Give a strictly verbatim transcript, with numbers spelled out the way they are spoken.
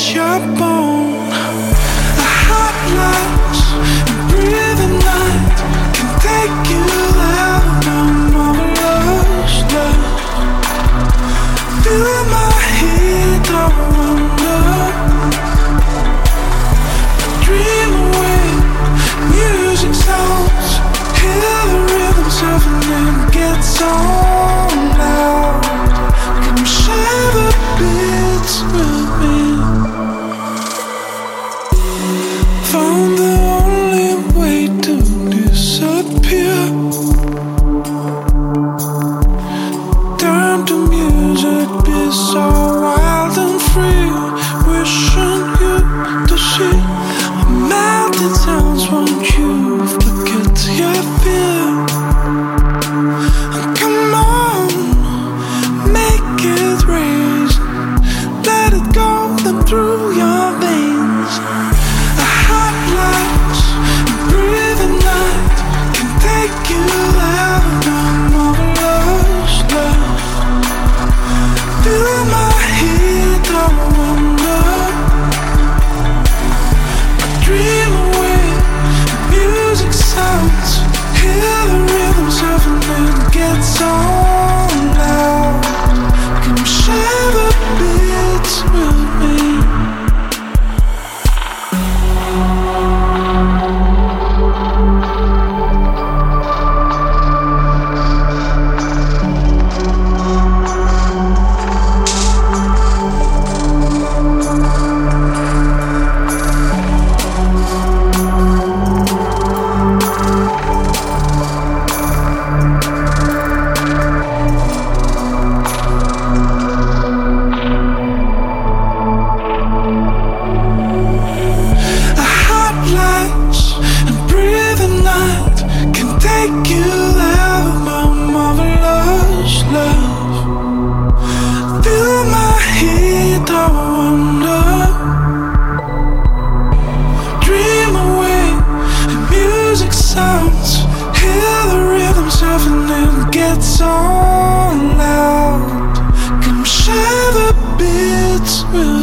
touch your bone. A hot light and breathing night can take you out of my marvelous love. Feel my heat, I wonder. Dream away, music sounds. Hear the rhythms of an end gets on loud. Come share the beats with me. Found the only way to disappear. Turn to music, be so wild and free. Wishing you to see melting sounds. Won't you forget your fear? And come on, make it raise. Let it go them through your veins. A hot light, a breathing night can take you out of my marvelous love. Feel my heat, I wonder. I dream away, music sounds. Hear the rhythms of an end gets on loud. Come share the beats with me. A hot light and breathing night can take you out of my marvelous love. Feel my heat, I wonder. Dream away, music sounds. Hear the rhythms of an end gets on loud. Come share the beats with